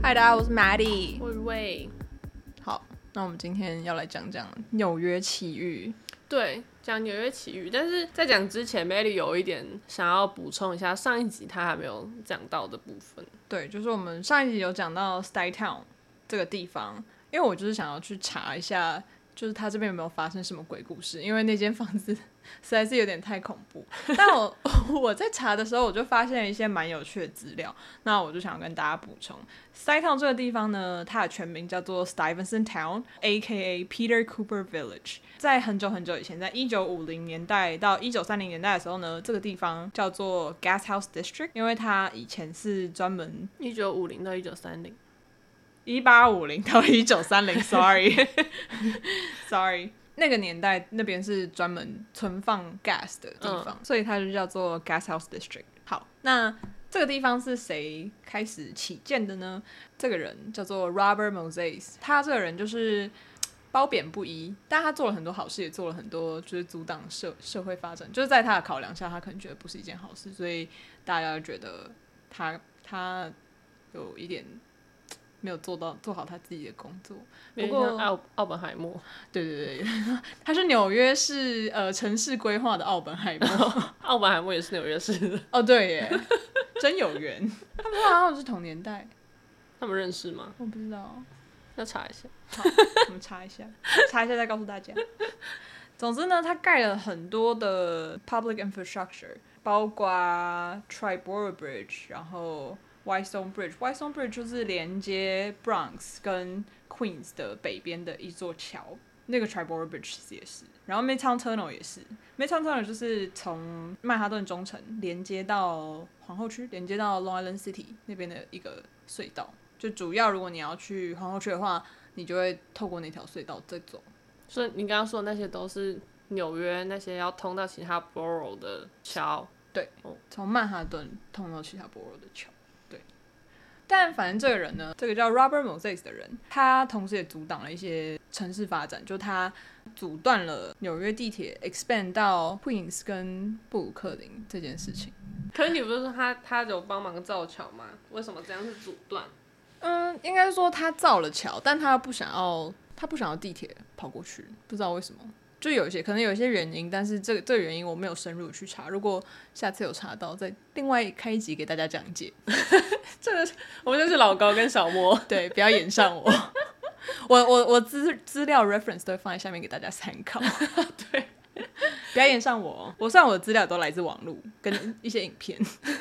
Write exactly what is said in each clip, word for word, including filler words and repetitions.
嗨，大家，我是 Maddie， 我是魏。 好，那我們今天要來講講紐約奇遇。 對，講紐約奇遇，但是在講之前 Maddie 有一點想要補充一下上一集他還沒有講到的部分。 對，就是我們上一集有講到 Stuytown 這個地方，因為我就是想要去查一下，就是他這邊有沒有發生什麼鬼故事，因為那間房子實在是有點太恐怖。但我我在查的時候，我就發現了一些蠻有趣的資料，那我就想要跟大家補充。Stuytown 這個地方呢，它的全名叫做 Stuyvesant Town A K A Peter Cooper Village。在很久很久以前，在一九五零年代到一九三零年代的時候呢，這個地方叫做 Gashouse District， 因為它以前是專門一九五零到一九三零， 一八五零到一九三零，sorry sorry， 那個年代那邊是專門存放 gas 的地方，嗯、所以它就叫做 Gashouse District。好，那這個地方是誰開始起建的呢？這個人叫做 Robert Moses， 他這個人就是褒貶不一，但他做了很多好事，也做了很多就是阻擋社社會發展，就是在他的考量下，他可能覺得不是一件好事，所以大家就覺得他他有一點沒有做到做好他自己的工作。不過奧奧本海默，對對對對，他是紐約市呃城市規劃的奧本海默， 奧本海默也是紐約市的。 哦，對耶，真有緣。他們好像是同年代， 他們認識嗎？ 我不知道， 要查一下。 好，我們查一下，查一下再告訴大家。總之呢，他蓋了很多的 public infrastructure， 包括 Triborough Bridge， 然後 Whitestone Bridge。Whitestone Bridge 就是連接 Bronx 跟 Queens 的北邊的一座橋，那個 Triborough Bridge 其實也是。然後 Midtown Tunnel 也是 ，Midtown Tunnel 就是從曼哈頓中城連接到皇後區，連接到 Long Island City 那邊的一個隧道。就主要如果你要去皇後區的話，你就會透過那條隧道再走。 所以你剛剛說的那些都是紐約那些要通到其他 borough 的橋。 對，從曼哈頓通到其他 borough 的橋。對，但反正這個人呢，這個叫 Robert Moses 的人，他同時也阻擋了一些城市發展，就他阻斷了紐約地鐵 expand 到 Queens 跟布魯克林這件事情。 可是你不是說他他有幫忙造橋嗎？為什麼這樣是阻斷？ 嗯，應該說他造了橋，但他不想要，他不想要地鐵跑過去，不知道為什麼，就有一些可能有一些原因，但是這個這個原因我沒有深入去查，如果下次有查到，再另外開一集給大家講解。 這個我們就是老高跟小莫， 對，不要演上我，我我我資資料 reference 都會放在下面給大家參考。 對， 不要演上我，我雖然我的資料都來自網絡跟一些影片。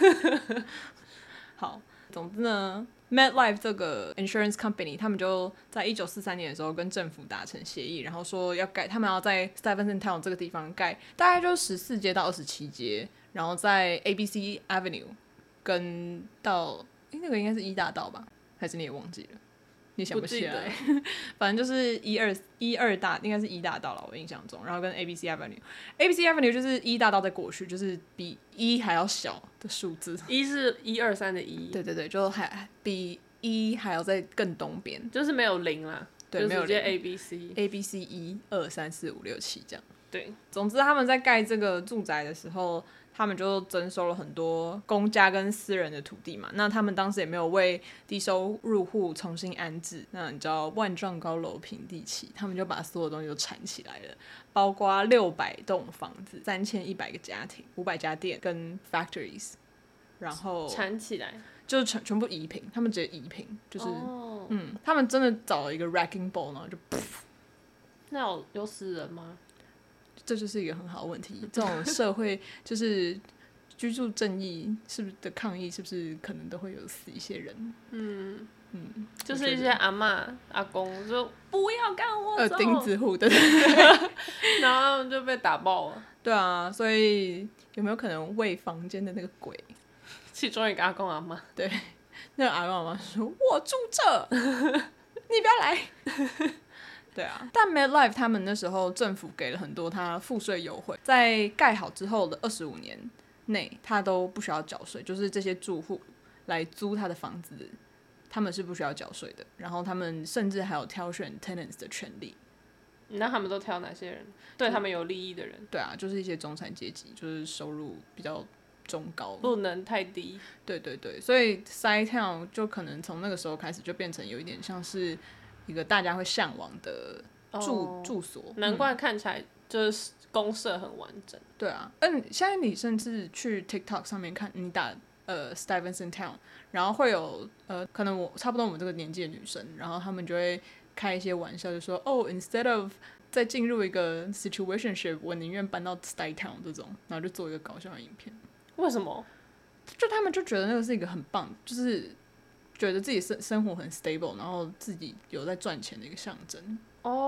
好，總之呢。MetLife 這個 insurance company， 他們就在一九四三年的時候跟政府達成協議，然後說要蓋，他們要在 Stuyvesant Town 這個地方蓋，大概就十四街到二十七街，然後在 A B C Avenue 跟到，誒那個應該是一大道吧？還是你也忘記了？你想不起來？反正就是一二一二大，應該是一大道了，我印象中。然後跟 A B C Avenue，A B C Avenue 就是一大道再過去，就是比一還要小的數字。 一是一二三的一。對對對，就還比一還要再更東邊， 就是沒有零啦。對，沒有零。A B C A B C 一二三四五六七這樣。 對， 總之他們在蓋這個住宅的時候，他們就徵收了很多公家跟私人的土地嘛，那他們當時也沒有為低收入戶重新安置，那你知道萬丈高樓平地起，他們就把所有東西都纏起來了，包括六百棟房子、三千一百個家庭、五百家店跟 factories， 然後纏起來就是全全部移平，他們直接移平，就是、 oh. 嗯，他們真的找了一個 wrecking ball， 然後就噗。 那有有死人嗎？ 這就是一個很好的問題。這種社會就是居住正義是不是的抗議，是不是可能都會有死一些人？嗯嗯， 就是一些阿嬤阿公說不要趕我走， 呃，釘子戶對對對， 然後他們就被打爆了。對啊， 所以有沒有可能為房間的那個鬼， 其中一個阿公阿嬤？對， 那個阿公阿嬤說：“我住這，你不要來。”對啊，但 MetLife 他們那時候政府給了很多他賦稅優惠，在蓋好之後的二十五年內，他都不需要繳稅，就是這些住戶來租他的房子，他們是不需要繳稅的。然後他們甚至還有挑選 tenants 的權利。 那他們都挑哪些人？對他們有利益的人？ 對啊，就是一些中產階級，就是收入比較中高， 不能太低。 對對對，所以 Side Town 就可能從那個時候開始就變成有一點像是一個大家會嚮往的住、哦、住所， 難怪看起來就是公設很完整。嗯、 對啊，嗯，現在你甚至去 TikTok 上面看，你打呃 Stuyvesant Town， 然後會有呃可能我差不多我們這個年紀的女生，然後他們就會開一些玩笑，就說哦、oh,，instead of 再進入一個 situationship， 我寧願搬到 Stuyvesant Town 這種，然後就做一個搞笑的影片。為什麼？就他們就覺得那個是一個很棒，就是覺得自己生生活很 stable， 然後自己有在賺錢的一個象徵。哦、oh, ，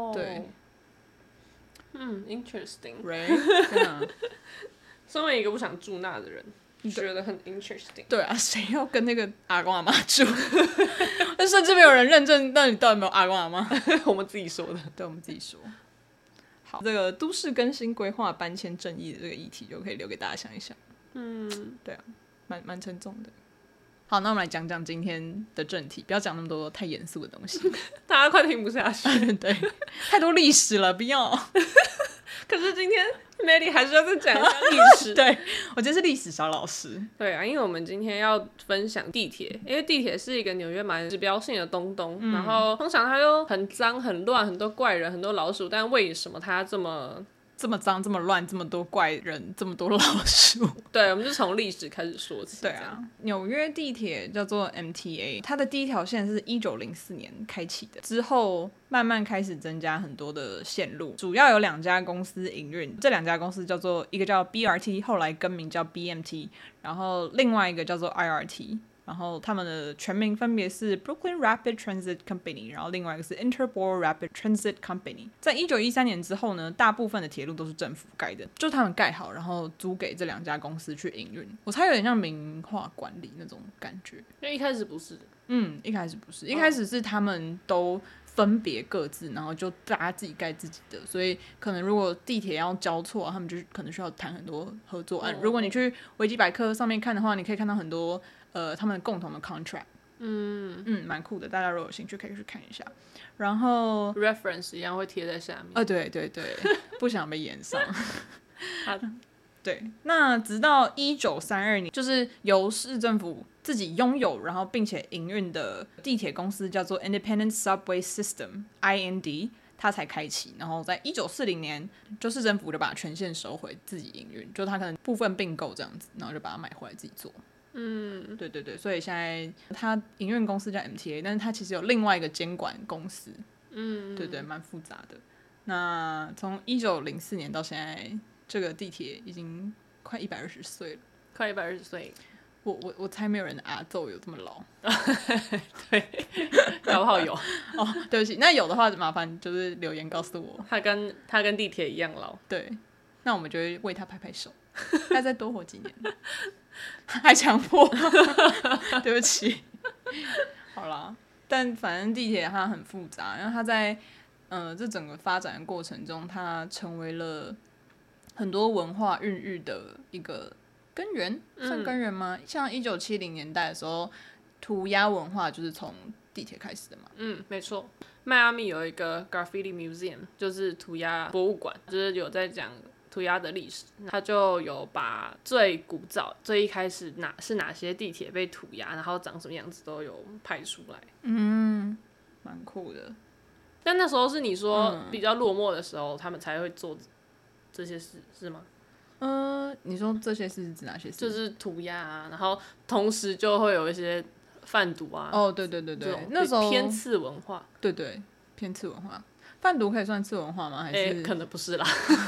對， 嗯 ，interesting，right？ 對啊， 身為一個不想住那的人，你覺得很 interesting。 對啊，誰要跟那個阿公阿媽住？但甚至沒有人認證到底到底有沒有阿公阿媽， 我們自己說的。 對，我們自己說。好，這個都市更新規劃搬遷正義的這個議題就可以留給大家想一想。嗯，對啊，蠻蠻沉重的。好，那我們來講講今天的正題，不要講那麼多太嚴肅的東西， 大家快聽不下去。 對，太多歷史了，不要。 可是今天 Maddie 還是要再講一下歷史。 對，我今天是歷史小老師。 對啊，因為我們今天要分享地鐵，因為地鐵是一個紐約蠻指標性的東東、嗯，然後通常它又很髒、很亂，很多怪人、很多老鼠，但為什麼它這麼？ 這麼髒，這麼亂，這麼多怪人，這麼多老鼠。 對，我們就從歷史開始說起。 對啊，紐約地鐵叫做 M T A， 它的第一條線是一九零四年開啟的，之後慢慢開始增加很多的線路，主要有兩家公司營運。這兩家公司叫做一個叫 B R T， 後來更名叫 B M T， 然後另外一個叫做 I R T。然後他們的全名分別是 Brooklyn Rapid Transit Company， 然後另外一個是 Interborough Rapid Transit Company。在一九一三年之後呢，大部分的鐵路都是政府蓋的，就他們蓋好，然後租給這兩家公司去營運。我猜有點像民化管理那種感覺。 因為一開始不是的。 嗯，一開始不是，一開始是他們都分別各自，然後就大家自己蓋自己的，所以可能如果地鐵要交錯，他們就可能需要談很多合作案。哦、如果你去維基百科上面看的話，你可以看到很多。呃，他們共同的 contract， 嗯嗯，蠻酷的，大家如果有興趣可以去看一下。然後 reference 一樣會貼在下面。 呃，對對對，不想被炎上。對，那直到一九三二年，就是由市政府自己擁有，然後並且營運的地鐵公司叫做 Independent Subway System I N D， 它才開啟。然後在一九四零年，就市政府就把權限收回，自己營運，就它可能部分併購這樣子，然後就把它買回來自己做。嗯，對對對，所以現在它營運公司叫 M T A， 但是它其實有另外一個監管公司，嗯，對對，蠻複雜的。那從一九零四年到現在，這個地鐵已經快一百二十歲了， 快一百二十歲。 我我我猜沒有人的阿祖有這麼老， 對，搞不好有哦，對不起，那有的話麻煩就是留言告訴我， 他跟他跟地鐵一樣老， 對，那我們就會為他拍拍手，他再多活幾年。還強迫對不起好啦，但反正地鐵它很複雜，然後它在呃這整個發展的過程中，它成為了很多文化孕育的一個根源，算根源嗎？嗯、像一九七零年代的時候，塗鴉文化就是從地鐵開始的嘛。嗯， 沒錯。邁阿密有一個 Graffiti Museum， 就是塗鴉博物館，就是有在講塗鴉的歷史，他就有把最古早、最一開始哪是哪些地鐵被塗鴉，然後長什麼樣子都有拍出來。 嗯，蠻酷的。 但那時候是你說比較落寞的時候，嗯、他們才會做這些事，是嗎？ 嗯、呃，你說這些事是指哪些事？ 就是塗鴉啊，然後同時就會有一些販毒啊。 哦，對對對對，那時候偏次文化。 對對，偏次文化。販毒可以算次文化嗎？還是、欸、 可能不是啦。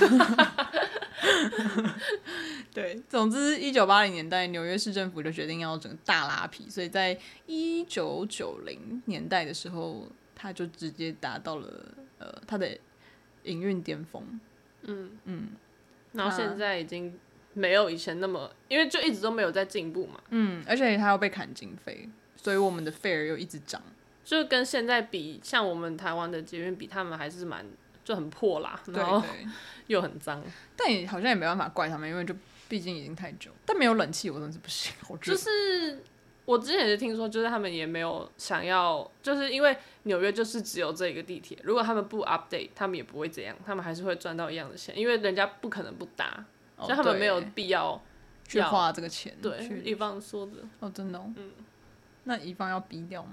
對，總之一九八零年代，紐約市政府就決定要整個大拉皮，所以在一九九零年代的時候，他就直接達到了呃他的營運巔峰。嗯嗯， 然後現在已經沒有以前那麼，因為就一直都沒有在進步嘛。 嗯，而且他要被砍經費，所以我們的 fare 又一直漲。 就跟現在比，像我們台灣的捷運比，他們還是蠻就很破啦，然後又很髒。 但也好像也沒辦法怪他們，因為就畢竟已經太久。但沒有冷氣，我真的是不行。我覺得就是我之前也是聽說，就是他們也沒有想要，就是因為紐約就是只有這個地鐵，如果他們不 update， 他們也不會這樣，他們還是會賺到一樣的錢，因為人家不可能不搭，哦、所以他們沒有必要去花這個錢。 對，乙方說的。 哦，真的哦。 嗯， 那乙方要逼掉嗎？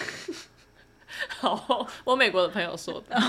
好，我美國的朋友說的。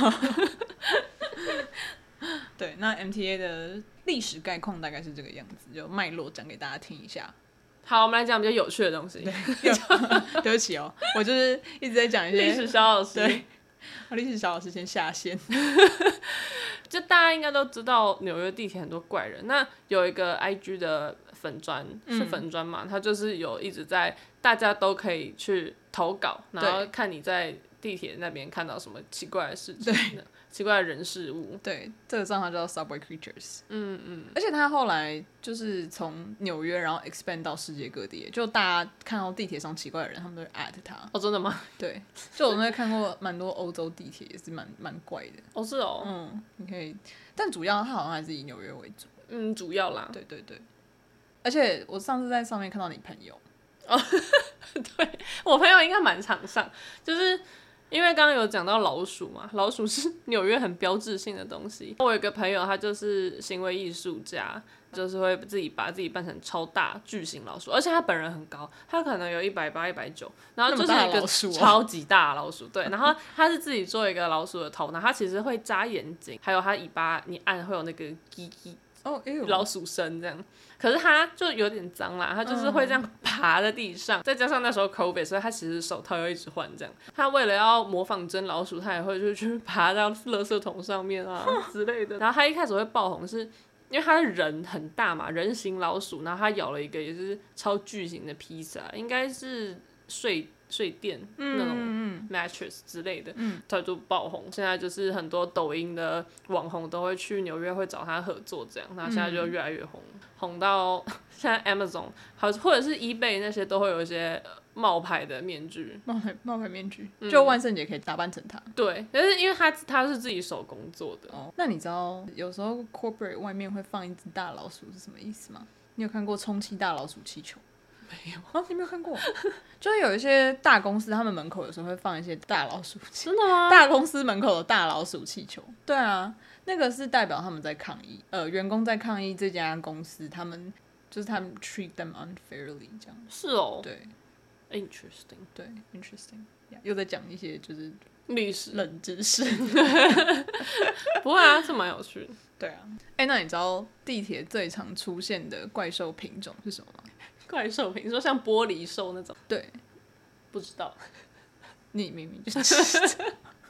對，那 M T A 的歷史概況大概是這個樣子，就脈絡講給大家聽一下。 好，我們來講比較有趣的東西。 對，對不起哦，我就是一直在講一些歷史小老師。 對，歷史小老師先下線。 就大家應該都知道紐約地鐵很多怪人，那有一個 I G 的粉專是粉專嘛，他、嗯、就是有一直在大家都可以去投稿，然後看你在地鐵那邊看到什麼奇怪的事情，奇怪的人事物。对， 這個賬號叫 Subway Creatures。 嗯嗯。 而且他後來就是從紐約，然後 expand 到世界各地，就大家看到地鐵上奇怪的人，他們都會 at 他。 哦，真的嗎？ 對，就我那看過蠻多歐洲地鐵，也是蠻蠻怪的。 哦，是哦。 嗯，你可以，但主要他好像還是以紐約為主。 嗯，主要啦。 對对對。而且我上次在上面看到你朋友。 哦，對，我朋友應該蠻常上，就是。因為剛剛有講到老鼠嘛，老鼠是紐約很標誌性的東西。我有一個朋友，他就是行為藝術家，就是會自己把自己扮成超大巨型老鼠，而且他本人很高，他可能有一百八、一百九，然後就是一個超級大的老鼠。對，然後他是自己做一個老鼠的頭，然後他其實會扎眼睛，還有他尾巴，你按會有那個嘰嘰。哦，老鼠聲這樣，可是它就有點髒啦，它就是會這樣爬在地上，嗯、再加上那時候 COVID， 所以它其實手套要一直換這樣。它為了要模仿真老鼠，它也會就去爬到垃圾桶上面啊之類的。然後它一開始會爆紅是，是因為它的人很大嘛，人形老鼠，然後它咬了一個也是超巨型的披薩，應該是睡。睡墊、嗯、那種 mattress 之類的，它、嗯、就爆紅。現在就是很多抖音的網紅都會去紐約會找他合作這樣，那現在就越來越紅，嗯、紅到現在 Amazon 好或者是 eBay 那些都會有一些冒牌的面具，冒牌冒牌面具，嗯、就萬聖節可以打扮成他。對，但是因為他他是自己手工做的。哦，那你知道有時候 corporate 外面會放一隻大老鼠是什麼意思嗎？你有看過充氣大老鼠氣球？沒有啊，你沒有看過？就是有一些大公司，他們門口有時候會放一些大老鼠氣球。真的嗎？大公司門口的大老鼠氣球。對啊，那個是代表他們在抗議，呃，員工在抗議這家公司，他們就是他們 treat them unfairly 這樣。是哦。對 ，interesting。對 ，interesting。又在講一些就是歷史冷知識。不會啊，這蠻有趣的。對啊。哎、欸，那你知道地鐵最常出現的怪獸品種是什麼嗎？怪獸品，你說像玻璃獸那種？對，不知道。你明明就知道。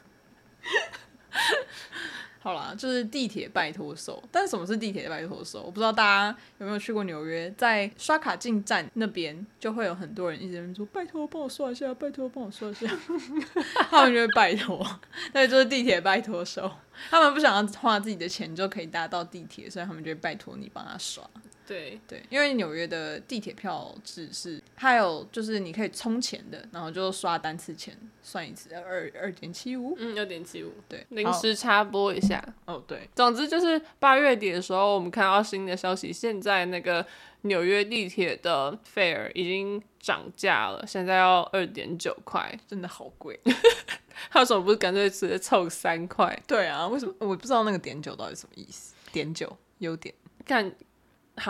好啦，就是地鐵拜託獸。但是什麼是地鐵拜託獸？我不知道大家有沒有去過紐約，在刷卡進站那邊就會有很多人一直說：“拜託幫我刷一下，拜託幫我刷一下。”他們就會拜託，對，就是地鐵拜託獸。他們不想要花自己的錢就可以搭到地鐵，所以他們就會拜託你幫他刷。對對，因為紐約的地鐵票制是，還有就是你可以充錢的，然後就刷單次錢算一次，二二點七五，嗯，二點七五，對。臨時插播一下，哦對，總之就是八月底的時候，我們看到新的消息，現在那個紐約地鐵的 fare 已經漲價了，現在要二點九塊，真的好貴。他為什麼不是乾脆直接湊三塊？對啊，為什麼？我不知道那個點九到底什麼意思。點九優點，看。好，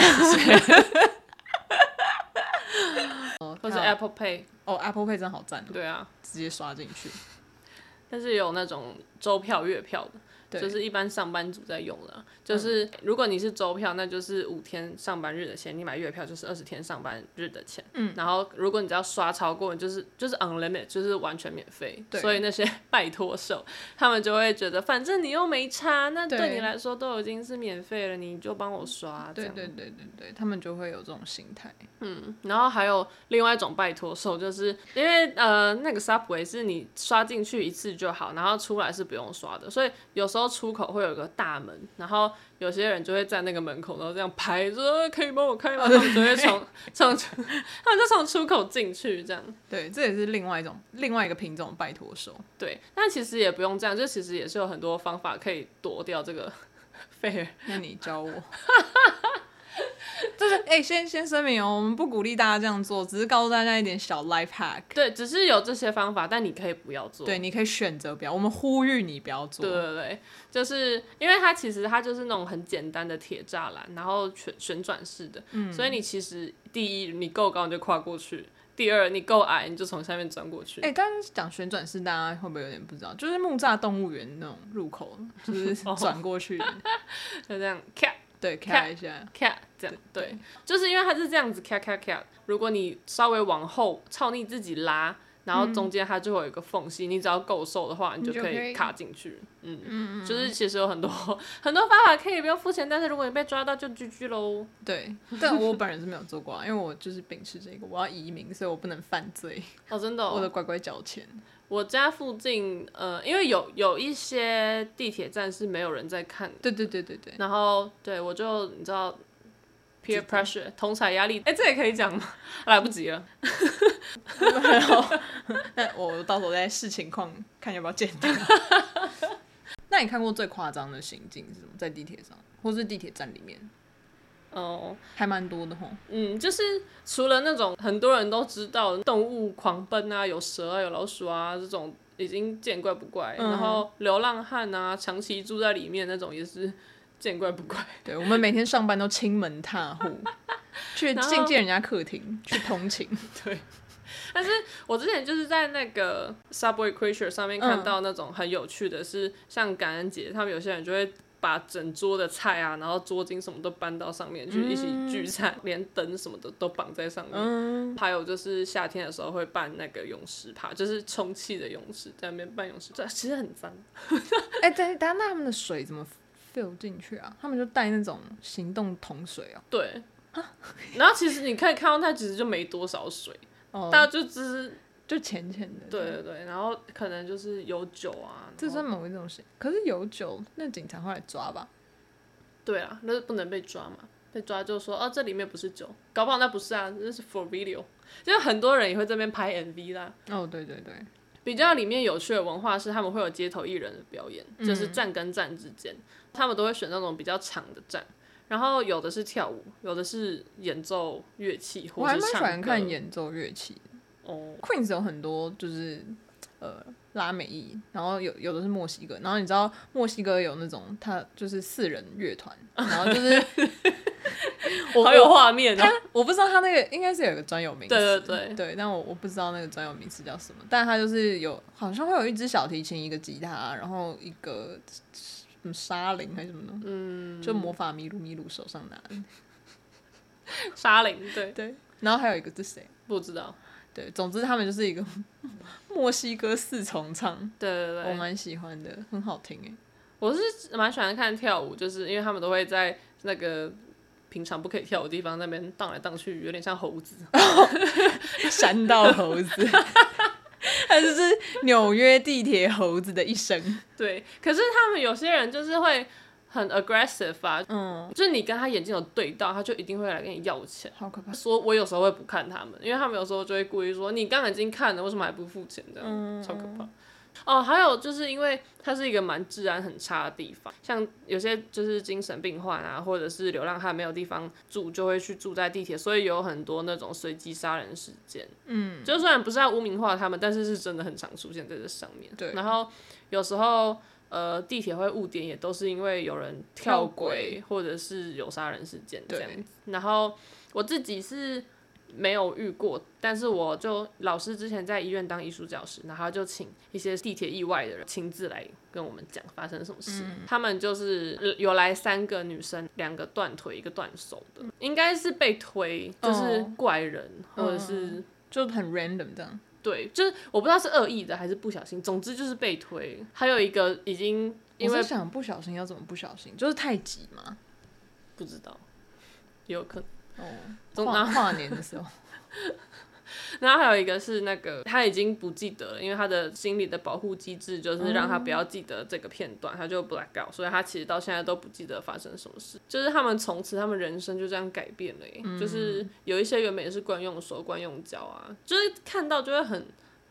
或者 Apple Pay 哦 ，Apple Pay 真好讚。對啊，直接刷進去。但是有那種週票、月票的。就是一般上班族在用的，就是如果你是週票，那就是五天上班日的錢；你買月票就是二十天上班日的錢。嗯，然後如果你只要刷超過，就是就是 unlimited，就是完全免費。對，所以那些拜託獸，他們就會覺得，反正你又沒差，那對你來說都已經是免費了，你就幫我刷。對對對對對，他們就會有這種心態。嗯，然後還有另外一種拜託獸，就是因為呃那個 Subway 是你刷進去一次就好，然後出來是不用刷的，所以有時候出口會有一個大門，然後有些人就會在那個門口，然後這樣拍說可以幫我開嗎？他們就會從從他們就從出口進去，這樣。對，這也是另外一種另外一個品種拜託獸。對，但其實也不用這樣，就其實也是有很多方法可以躲掉這個 fare。那你教我。 就是哎、欸，先先聲明哦，我們不鼓勵大家這樣做，只是告訴大家一點小 life hack。 對，只是有這些方法，但你可以不要做。 對，你可以選擇不要。我們呼籲你不要做。 對對對，就是因為它其實它就是那種很簡單的鐵柵欄，然後旋旋轉式的、嗯，所以你其實第一你夠高你就跨過去。第二，你夠矮，你就從下面鑽過去。 哎、欸，剛剛講旋轉式，大家會不會有點不知道？就是木柵動物園那種入口，就是轉過去的， 就這樣咔， 對，咔一下， 咔這樣，對，對，就是因為它是這樣子咔咔咔。如果你稍微往後朝你自己拉，然後中間它就會有一個縫隙、嗯，你只要夠瘦的話，你就可以卡進去。嗯嗯，就是其實有很多很多方法可以不用付錢，但是如果你被抓到就 G G 嘍。對， 但我本人是沒有做過、啊，因為我就是秉持這個，我要移民，所以我不能犯罪。 哦，真的、哦， 我得乖乖繳錢。 我家附近，呃，因為有有一些地鐵站是沒有人在看的。 對對對對對。 然後，對我就你知道 ，peer pressure 同儕壓力，哎，這也可以講嗎？來不及了。 那我到時候再視情況看要不要剪掉。那你看過最誇張的行徑是什麼？在地鐵上，或是地鐵站裡面？ 哦， 還蠻多的吼。 嗯，就是除了那種很多人都知道動物狂奔啊，有蛇啊，有老鼠啊這種已經見怪不怪，嗯、然後流浪漢啊，長期住在裡面那種也是見怪不怪。 對，我們每天上班都親門踏戶，去進進人家客廳去通勤。 對。但是我之前就是在那個 Subway Creature 上面看到那種很有趣的是，是、嗯、像感恩節，他們有些人就會把整桌的菜啊，然後桌巾什麼都搬到上面去一起聚餐，嗯、連燈什麼的都綁在上面、嗯。還有就是夏天的時候會辦那個泳池趴，就是充氣的泳池，在那邊辦泳池，這其實很髒。 哎、欸，等等，那他們的水怎麼 fill 進去啊？他們就帶那種行動桶水啊？ 對。然後其實你可以看到，它其實就沒多少水。 哦、 大家就只是就淺淺的， 對對對，然後可能就是有酒啊， 這算某一種型。可是有酒，那警察會來抓吧？ 對啊，那不能被抓嘛，被抓就說哦，這裡面不是酒，搞不好那不是啊，那是 for video。就很多人也會這邊拍 M V 啦。 哦，對對對， 比較裡面有趣的文化是他們會有街頭藝人的表演，嗯、就是站跟站之間，他們都會選那種比較長的站。然後有的是跳舞，有的是演奏樂器，或者是唱歌。我還蠻喜歡看演奏樂器的。哦、oh. ，Queens 有很多就是呃拉美裔，然後有有的是墨西哥，然後你知道墨西哥有那種他就是四人樂團，然後就是好有畫面哦。 我不知道他那個應該是有一個專有名詞， 對對對對， 但我我不知道那個專有名詞叫什麼，但他就是有好像會有一支小提琴，一個吉他，然後一個。什麼沙鈴還是什麼的，嗯，就魔法麋鹿，麋鹿手上拿的沙鈴，對對，然後還有一個是誰？ 不知道，對， 總之他們就是一個墨西哥四重唱， 對對對， 我蠻喜歡的，很好聽哎。 我是蠻喜歡看跳舞，就是因為他們都會在那個平常不可以跳舞的地方那邊蕩來蕩去，有點像猴子，山道猴子。它就是紐約地鐵猴子的一生。對，可是他們有些人就是會很 aggressive 啊，嗯，就是你跟他眼睛有對到，他就一定會來跟你要錢。好可怕！說我有時候會不看他們，因為他們有時候就會故意說你剛剛已經看了，為什麼還不付錢？這樣、嗯、超可怕。哦，還有就是因為它是一個蠻治安很差的地方，像有些就是精神病患啊，或者是流浪漢沒有地方住，就會去住在地鐵，所以有很多那種隨機殺人事件。嗯，就雖然不是要污名化他們，但是是真的很常出現在這上面。對，然後有時候呃地鐵會誤點，也都是因為有人跳軌，或者是有殺人事件這樣子。然後我自己是沒有遇過，但是我就老師之前在醫院當藝術教師，然後就請一些地鐵意外的人親自來跟我們講發生什麼事。嗯、他們就是有來三個女生，兩個斷腿，一個斷手的，應該是被推，就是怪人、哦、或者是、嗯、就很 random 這樣。對，就是我不知道是惡意的還是不小心，總之就是被推。還有一個已經因為我是想不小心要怎麼不小心，就是太急嗎？不知道，有可能。哦，跨跨年的時候，然後還有一個是那個他已經不記得了，因為他的心理的保護機制就是讓他不要記得這個片段，嗯、他就 black out，所以他其實到現在都不記得發生什麼事。就是他們從此他們人生就這樣改變了耶、嗯，就是有一些原本也是慣用手慣用腳啊，就是看到就會很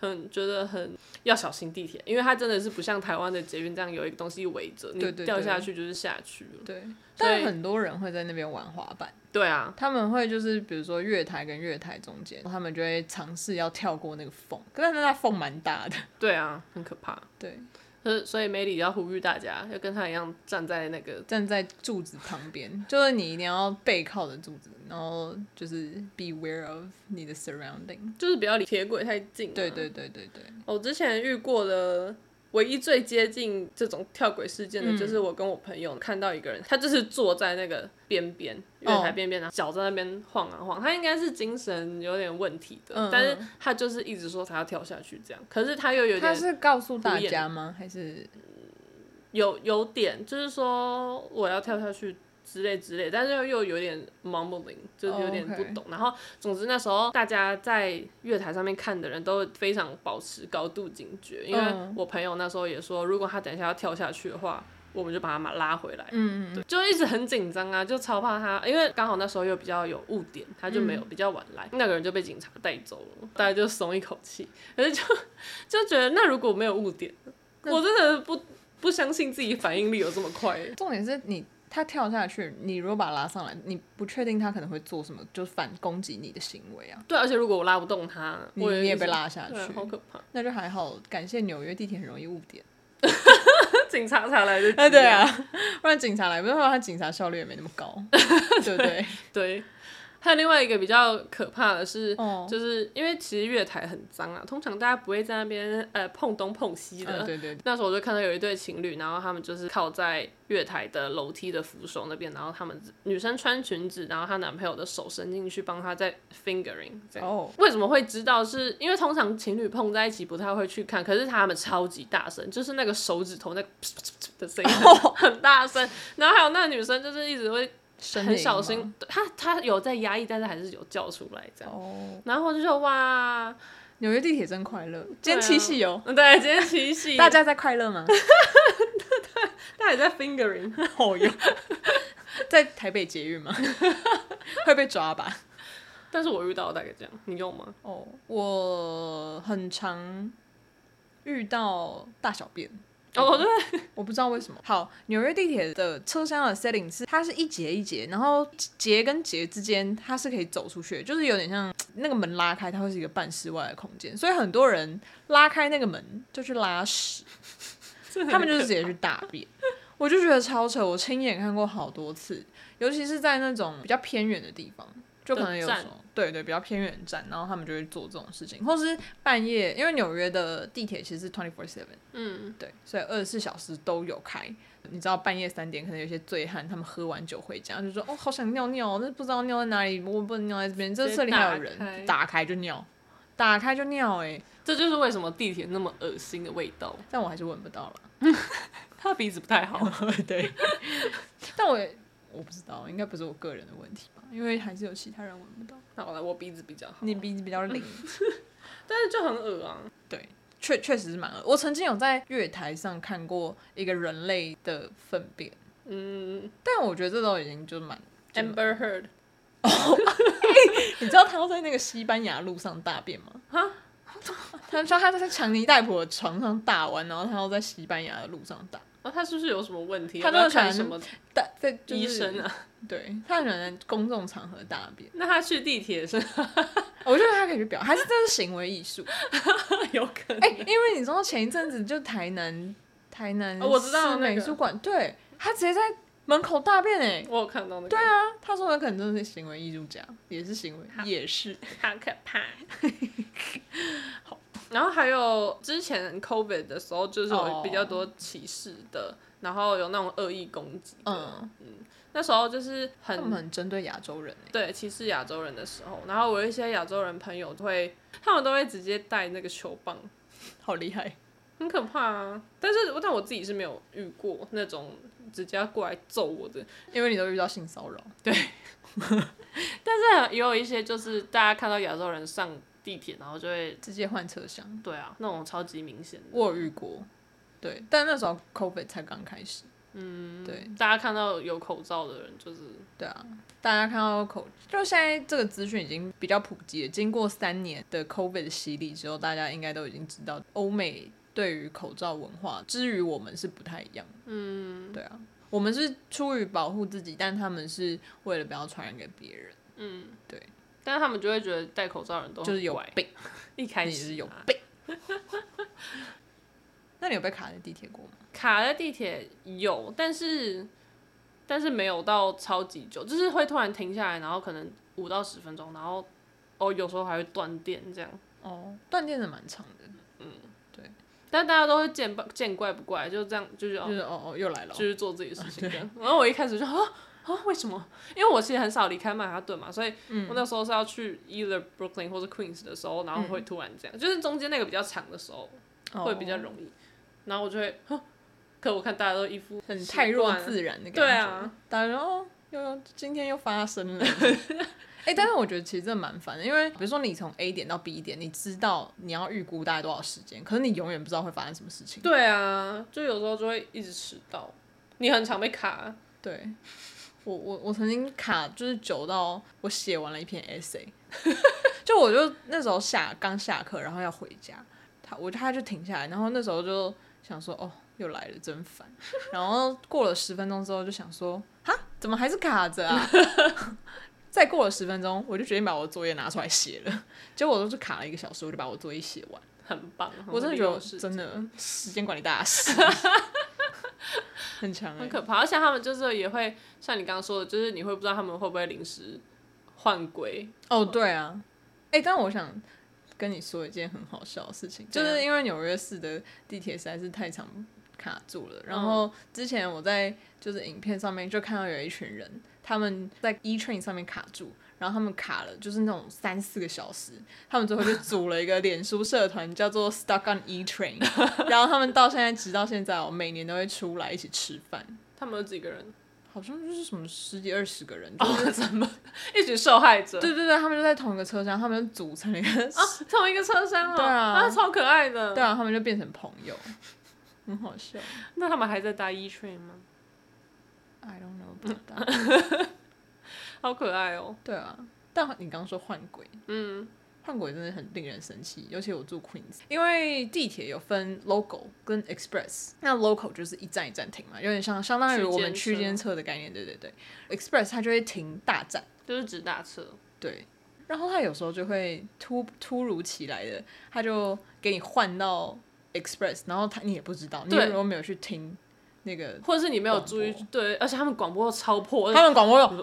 很覺得很要小心地鐵，因為它真的是不像台灣的捷運這樣有一個東西圍着，你掉下去就是下去了。 對，對，對，但很多人會在那邊玩滑板。 對啊，他們會就是比如說月台跟月台中間，他們就會嘗試要跳過那個縫，可是那縫蠻大的。 對啊，很可怕。對。所以梅里要呼籲大家要跟他一樣站在那個站在柱子旁邊，就是你一定要背靠着柱子，然後就是 beware of 你的 surrounding， 就是不要離鐵軌太近、啊。 對對對對對。 我之前遇過的唯一最接近這種跳軌事件的，嗯、就是我跟我朋友看到一個人，他就是坐在那個邊邊月台邊邊，然後腳在那邊晃啊晃，他應該是精神有點問題的，嗯、但是他就是一直說他要跳下去這樣，可是他又有點，他是告訴大家嗎？還是有有點就是說我要跳下去之類之類，但是又有點 mumbling， 就是有點不懂。Oh, okay. 然後總之那時候大家在月台上面看的人都非常保持高度警覺，因為我朋友那時候也說，如果他等一下要跳下去的話，我們就把他拉回來。嗯，對，就一直很緊張啊，就超怕他，因為剛好那時候又比較有誤點，他就沒有比較晚來，嗯、那個人就被警察帶走了，大家就鬆一口氣。可是就就覺得，那如果沒有誤點，我真的不不相信自己反應力有這麼快。重點是你。他跳下去，你如果把他拉上來，你不確定他可能會做什麼，就反攻擊你的行為啊。對，而且如果我拉不動他，你你也被拉下去，好可怕。那就還好，感謝紐約地鐵很容易誤點，警察才來得及。對啊，不然警察來，不然他警察效率也沒那麼高，對不對？對。還有另外一個比較可怕的是，哦、就是因為其實月台很髒啊，通常大家不會在那邊呃碰東碰西的。嗯、對對對。那時候我就看到有一對情侶，然後他們就是靠在月台的樓梯的扶手那邊，然後他們女生穿裙子，然後她男朋友的手伸進去幫她在 fingering 這樣。哦。為什麼會知道是？是因為通常情侶碰在一起不太會去看，可是他們超級大聲，就是那個手指頭那個噗噗噗的聲音很大聲，然後還有那個女生就是一直會。很小心，他他有在壓抑，但是還是有叫出來這樣。Oh. 然後我就說哇，紐約地鐵真快樂，今天七夕哦。對，今天七夕，大家在快樂嗎？對，大家也在 fingering， 好用。在台北捷運嗎？會被抓吧？但是我遇到大概這樣，你用嗎？哦，oh, 我很常遇到大小便。哦，oh, 對，我不知道為什麼。好，紐約地鐵的車廂的 setting 是，它是一節一節，然後節跟節之間它是可以走出去的，就是有點像那個門拉開，它會是一個半室外的空間，所以很多人拉開那個門就去拉屎，他們就是直接去大便，我就覺得超扯，我親眼看過好多次，尤其是在那種比較偏遠的地方。就可能有時候，對對，比較偏遠站，然後他們就會做這種事情，或是半夜，因為紐約的地鐵其實是 twenty four seven， 嗯，對，所以二十四小時都有開。你知道半夜三點可能有些醉漢，他們喝完酒回家就說，哦，好想尿尿，但是不知道尿在哪裡，我不能尿在這邊，這這裡還有人，打開就尿，打開就尿，哎，這就是為什麼地鐵那麼噁心的味道，但我還是聞不到了，他鼻子不太好，對，但我也。我不知道，應該不是我個人的問題吧，因為還是有其他人聞不到。那好了，我鼻子比較好，你鼻子比較靈，但是就很惡啊。對，確確實是蠻惡。我曾經有在月台上看過一個人類的糞便，嗯，但我覺得這都已經就蠻 Amber Heard。哦，你知道他要在那個西班牙路上大便嗎？哈？他說他在強尼戴普的床上大完，然後他要在西班牙的路上大。哦，他是不是有什麼問題？他都看什麼大在、就是、醫生啊？對，他很喜歡在公眾場合大便。那他去地鐵是？我覺得他可以去表，還是這是行為藝術？有可能。哎、欸，因為你知道前一陣子就台南台南市美術館，哦那個、對，他直接在門口大便哎、欸，我有看到那個。對啊，他說他可能真的是行為藝術家，也是行為，好也是，好可怕。好。然後還有之前 COVID 的時候，就是有比較多歧視的，oh. 然後有那種惡意攻擊的，嗯嗯，那時候就是很他們很針對亞洲人，對，歧視亞洲人的時候，然後我有一些亞洲人朋友會，他們都會直接帶那個球棒，好厲害，很可怕啊！但是但我自己是沒有遇過那種直接要過來揍我的，因為你都遇到性騷擾，對，但是也有一些就是大家看到亞洲人上地鐵，然後就會直接換車廂。對啊，那種超級明顯的。我有遇過，對，但那時候 COVID 才剛開始。 嗯， 對， 大家看到有口罩的人就是对啊，大家看到口，就現在這個資訊已經比較普及了。經過三年的 COVID 的洗禮之後，大家應該都已經知道歐美對於口罩文化，至於我們是不太一樣。嗯，對啊，我們是出於保護自己，但他們是為了不要傳染給別人。嗯，對。 但是他們就會覺得戴口罩的人都就是有病， 一開始、啊、 你是有病。那你有被卡在地鐵過嗎？ 卡在地鐵有，但是但是沒有到超級久，就是會突然停下來，然後可能五到十分鐘，然後哦有時候還會斷電這樣。哦，斷電是蠻長的。嗯，對。但大家都會見見怪不怪，就這樣就是哦，就是哦哦又來了，就是做自己的事情這樣。然後我一開始就啊。啊，為什麼？因為我其實很少離開曼哈頓嘛，所以我那時候是要去 either Brooklyn 或者 Queens 的時候，然後會突然這樣，嗯、就是中間那個比較長的時候會比較容易，哦、然後我就會，可我看大家都一副很太弱自然的感覺，對啊，大家說哦，又今天又發生了，哎、欸，但是我覺得其實這蠻煩的，因為比如說你從 A 點到 B 點，你知道你要預估大概多少時間，可是你永遠不知道會發生什麼事情。對啊，就有時候就會一直遲到，你很常被卡。對。我我我曾經卡就是久到我寫完了一篇 essay， 就我就那時候下剛下課，然後要回家，他我他就停下來，然後那時候就想說哦又來了真煩，然後過了十分鐘之後就想說哈怎麼還是卡着啊？再過了十分鐘我就決定把我的作業拿出來寫了，結果我就是卡了一個小時，我就把我作業寫完，很棒，我真的覺得真的時間管理大師。很強、欸，很可怕，而且他們就是也會像你剛剛說的，就是你會不知道他們會不會臨時換軌。哦，對啊，哎、欸，但我想跟你說一件很好笑的事情，就是因為紐約市的地鐵實在是太常卡住了。然後之前我在就是影片上面就看到有一群人，他們在 E Train 上面卡住。然後他們卡了，就是那種三四個小時。他們最後就組了一個臉書社團，叫做 Stuck on E Train。然後他們到現在，直到現在哦，每年都會出來一起吃飯。他們有幾個人？好像就是什麼十幾二十個人，就是怎麼、哦、一群受害者？對對對，他們就在同一個車廂，他們就組成了一個、哦、同一個車廂哦。對啊，啊，超可愛的。對啊，他們就變成朋友，很好笑。那他們還在搭 E Train 嗎 ？I don't know about that。好可愛哦！對啊，但你剛剛說換軌，嗯，換軌真的很令人生氣，尤其我住 Queens， 因為地鐵有分 local 跟 express， 那 local 就是一站一站停嘛，有點像相當於我們區間車的概念，對對對。express 它就會停大站，就是指大車，對。然後它有時候就會突突如其來的，它就給你換到 express， 然後它你也不知道，你如果沒有去聽。那個，或者是你沒有注意，對，而且他們廣播超破，他們廣播又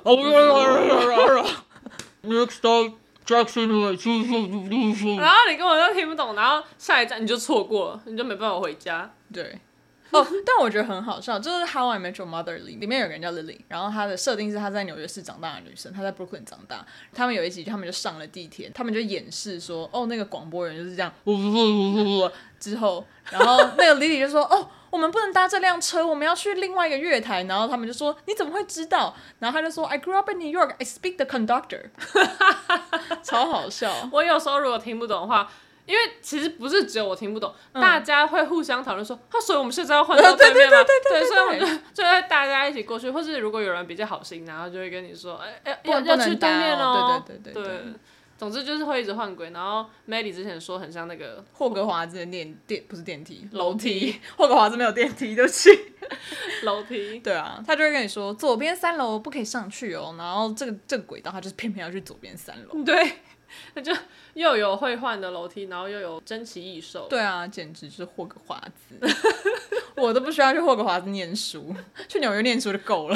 ，Next stop Jackson，然後你根本就聽不懂，然後下一站你就錯過了，你就沒辦法回家。對，哦，但我覺得很好笑，就是 How I Met Your Mother 裡裡面有個人叫 Lily， 然後她的設定是她在紐約市長大的女生，她在 Brooklyn 長大。他們有一集，他們就上了地鐵，他們就演示說，哦，那個廣播人就是這樣，之後，然後那個 Lily 就說，哦。我們不能搭這輛車，我們要去另外一個月台。然後他們就說：“你怎麼會知道？”然後他就說 ：“I grew up in New York. I speak the conductor。”超好笑。我有時候如果聽不懂的話，因為其實不是只有我聽不懂，嗯、大家會互相討論說：“他、啊、所以我們現在要換到對面嗎？”對，所以我們就就會大家一起過去，或是如果有人比較好心，然後就會跟你說：“哎、欸、哎，要要去對面哦。”對對對對對。對總之就是會一直換軌，然後 Maddie 之前說很像那個霍格華茲的電電不是電梯樓梯，霍格華茲沒有電梯，對不起，樓梯。對啊，他就會跟你說左邊三樓不可以上去哦，然後這個這個軌道他就是偏偏要去左邊三樓。對，他就又有會換的樓梯，然後又有珍奇異獸。對啊，簡直就是霍格華茲，我都不需要去霍格華茲念書，去紐約念書就夠了。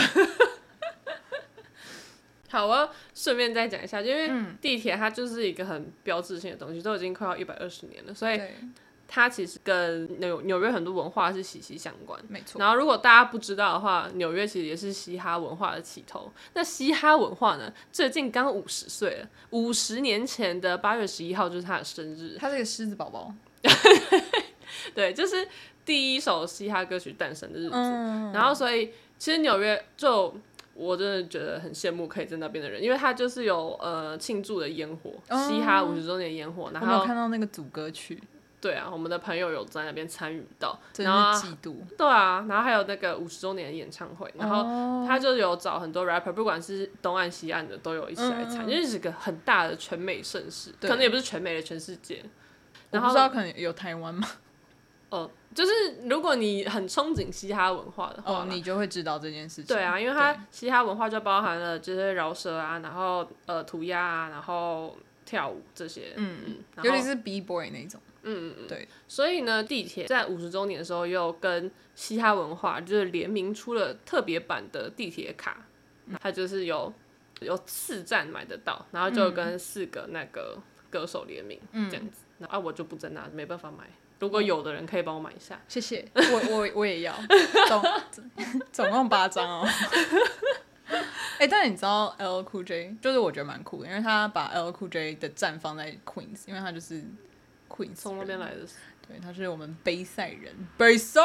好，我要順便再講一下，因為地鐵它就是一個很標誌性的東西，都已經快要一百二十年了，所以它其實跟紐紐約很多文化是息息相關。沒錯。然後如果大家不知道的話，紐約其實也是嘻哈文化的起頭。那嘻哈文化呢，最近剛五十歲了，五十年前的八月十一號就是他的生日。他是個獅子寶寶。對，就是第一首嘻哈歌曲誕生的日子。嗯。然後所以其實紐約就。我真的覺得很羨慕可以在那邊的人，因為他就是有呃慶祝的煙火，嘻哈五十周年煙火，然後我有看到那個組歌曲， 對啊，我們的朋友有在那邊參與到， 真是嫉妒。 對啊，然後還有那個五十周年的演唱會，然後他就有找很多 rapper， 不管是東岸西岸的都有一起來參，因為是個很大的全美盛事，可能也不是全美的，全世界。然後我不知道可能有台灣嗎？ 哦，就是如果你很憧憬嘻哈文化的話， 哦，你就會知道這件事情。 對啊，因為它嘻哈文化就包含了這些饒舌啊，然後呃塗鴉啊，然後跳舞這些，嗯嗯， 尤其是 B boy 那種， 嗯嗯嗯， 對。 所以呢，地鐵在五十周年的時候又跟嘻哈文化就是聯名出了特別版的地鐵卡，嗯、它就是有有四站買得到，然後就跟四個那個歌手聯名、嗯、這樣子，啊我就不在那，沒辦法買。如果有的人可以幫我買一下，謝謝。 我我我也要，總總共八張哦。哎、欸，但你知道 L L Cool J 就是我覺得蠻酷的，因為他把 L L Cool J 的站放在 Queens， 因為他就是 Queens 從那邊來的。 對，他是我們杯賽人，杯賽。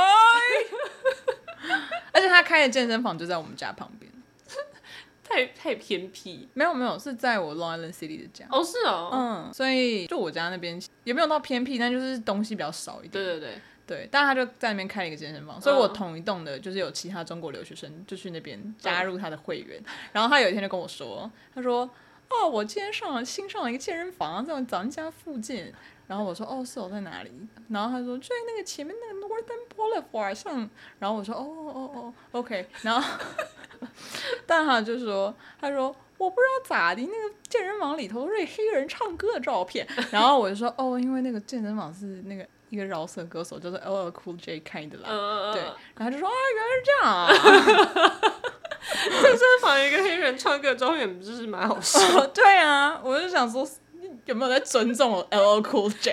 而且他開的健身房就在我們家旁邊。 太太偏僻， 沒有沒有，是在我 Long Island City 的家。 哦，是哦， 嗯，所以就我家那邊也沒有到偏僻，但就是東西比較少一點。 對對對對，但他就在那邊開了一個健身房，所以我同一棟的就是有其他中國留學生就去那邊加入他的會員，嗯、然後他有一天就跟我說，他說哦，我今天上了新上了一個健身房，在我咱家附近。然後我說哦，是我在哪裡？然後他說就在那個前面那個 Northern Boulevard 上。然後我說哦哦哦 ，OK。然後，但他就說，他說我不知道咋的，那個健身房裡頭都是黑人唱歌的照片。然後我就說哦，因為那個健身房是那個一個饒舌歌手叫做 L L Cool J 開的啦。Uh, 對，然後他就說啊，原來是這樣啊。 健身房有一個黑人唱歌的照片，不是蠻好笑？ 哦？對啊，我就想說。有沒有在尊重我 L L Cool J？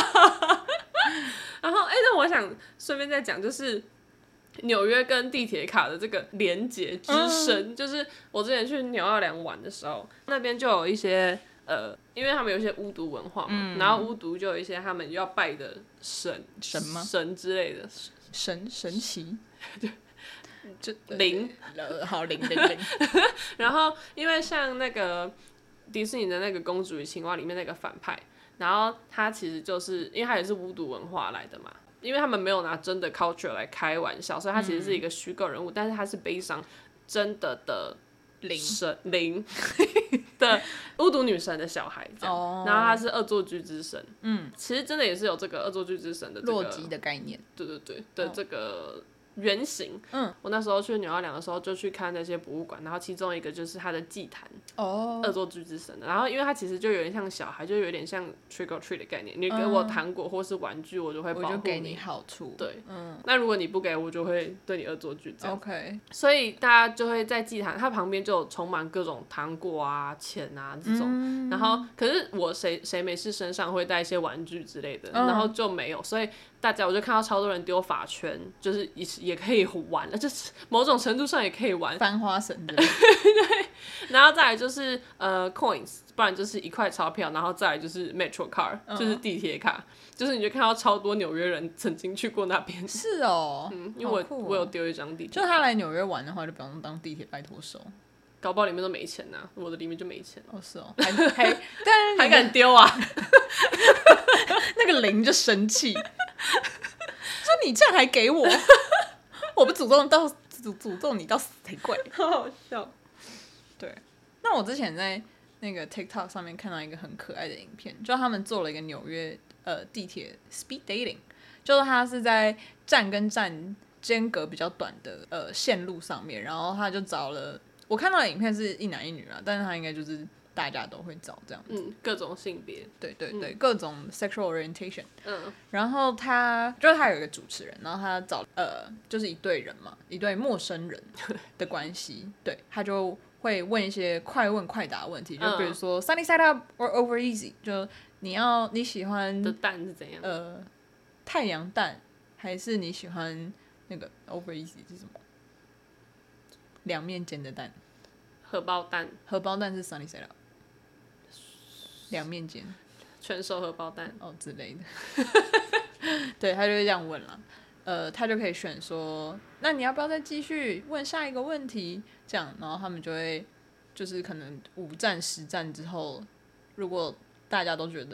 然後，哎、欸，那我想順便再講，就是紐約跟地鐵卡的這個連結之深，嗯、就是我之前去紐奧良玩的時候，那邊就有一些呃，因為他們有一些巫毒文化嘛，嗯、然後巫毒就有一些他們要拜的神神嗎？ 神之類的神神奇， 對， 就靈， 好靈靈靈。 然後，因為像那個。迪士尼的那個《公主與青蛙》裡面那個反派，然後他其實就是因為他也是巫毒文化來的嘛，因為他們沒有拿真的 culture 來開玩笑，所以他其實是一個虛構人物，嗯、但是他是悲傷真的的神靈的巫毒女神的小孩這樣，哦、然後他是惡作劇之神，嗯，其實真的也是有這個惡作劇之神的、這個、 洛基的概念， 對對對的這個。原型，嗯，我那時候去紐奧良的時候就去看那些博物館，然後其中一個就是他的祭壇，哦，惡作劇之神的，然後因為他其實就有點像小孩，就有點像 trick or treat 的概念，你給我糖果或是玩具，我就會保護你， 我就給你好處， 對，嗯，那如果你不給我，就會對你惡作劇這樣 ，OK， 所以大家就會在祭壇，它旁邊就有充滿各種糖果啊、錢啊這種，嗯、然後可是我誰誰沒事身上會帶一些玩具之類的，嗯、然後就沒有，所以。大家我就看到超多人丟髮圈，就是也也可以玩，就是某種程度上也可以玩翻花繩的。 對，然後再來就是呃 coins， 不然就是一塊鈔票，然後再來就是 metro card，、嗯、就是地鐵卡，就是你就看到超多紐約人曾經去過那邊。是哦，嗯，因為我、哦、我有丟一張地鐵， 就他來紐約玩的話，就不用當地鐵拜托手。 搞不好裡面都沒錢吶、啊，我的裡面就沒錢。 哦，是哦，還還但還敢丟啊？ 那個零就生氣，說你這樣還給我，我不詛咒到詛詛咒你到死才怪， 好好笑。 對，那我之前在那個 TikTok 上面看到一個很可愛的影片，就他們做了一個紐約呃地鐵 speed dating，就是他是在站跟站間隔比較短的呃線路上面，然後他就找了。我看到的影片是一男一女啊，但是他應該就是大家都會找這樣子， 嗯，各種性別， 對對對，嗯、各種 sexual orientation， 嗯， 然後他就是他有一個主持人，然後他找呃就是一對人嘛，一對陌生人的關係，對，他就會問一些快問快答問題，就比如說、嗯、sunny side up or over easy， 就你要你喜歡的蛋是怎樣？ 呃，太陽蛋還是你喜歡那個 over easy 是什麼？兩面煎的蛋， 荷包蛋， 荷包蛋是 sunny side up， 兩面煎， 全熟荷包蛋哦之類的，對，他就會這樣問了，呃，他就可以選說，那你要不要再繼續問下一個問題？這樣，然後他們就會，就是可能五站十站之後，如果大家都覺得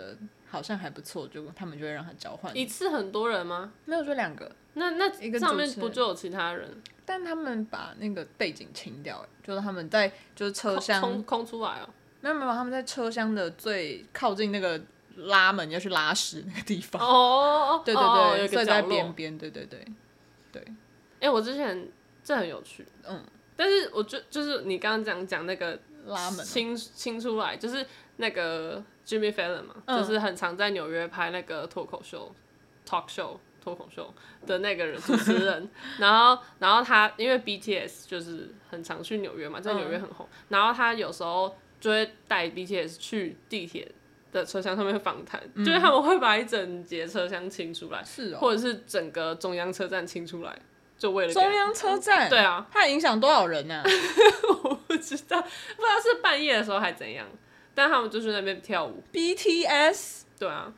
好像還不錯，就他們就會讓他交換。 一次很多人嗎？ 沒有，就兩個。 那那上面不就有其他人？ 但他們把那個背景清掉，就是他們在就是車廂空空出來哦。 沒有沒有，他們在車廂的最靠近那個拉門要去拉屎那個地方。 哦哦哦， 對對對， 哦有所以在邊邊，對對對對。哎、 欸，我之前這很有趣，嗯，但是我就就是你剛剛講講那個拉門清清出來，就是那個 Jimmy Fallon 嘛，嗯、就是很常在紐約拍那個脫口秀 talk show 脫口秀的那個人主持人，然後然後他因為 B T S 就是很常去紐約嘛，在紐約很紅，嗯、然後他有時候就會帶 B T S 去地鐵的車廂上面訪談，嗯、就是他們會把一整節車廂清出來，是哦，或者是整個中央車站清出來，就為了中央車站， 對啊， 它影響多少人呢、啊？ 我不知道，不知道是半夜的時候還怎樣，但他們就去那邊跳舞。 B T S， 對啊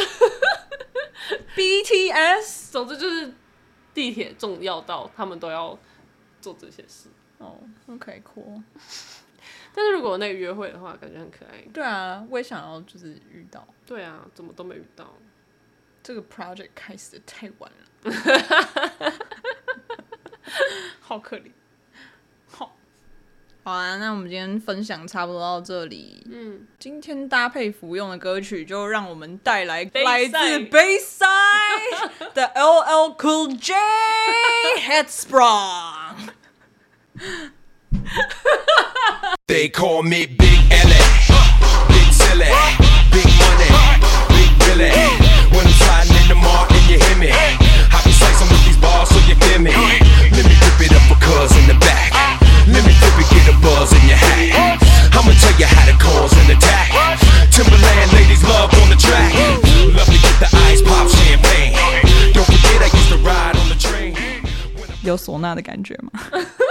，B T S， 總之就是地鐵重要到他們都要做這些事。 哦、oh, ，OK， cool。 但是如果那個約會的話，感覺很可愛。 對啊，我也想要就是遇到。 對啊，怎麼都沒遇到。 這個 project 開始的太晚了，好可憐。好，好啊，那我們今天分享差不多到這裡。嗯，今天搭配服用的歌曲，就讓我們帶來來自 Bayside 的 L L Cool J Headsprung。 They call me Big L, Big Silly, Big Money, Big Billy. When I'm sliding in the mall and you hear me, I be slicing with these balls so you feel me. Let me rip it up for cuz in the back. Let me flip it, get a buzz in your hat. I'ma tell you how to cause an attack. Timberland ladies love on the track. Love to get the ice pop champagne. Don't forget I used to ride on the train. 有唢呐的感觉吗？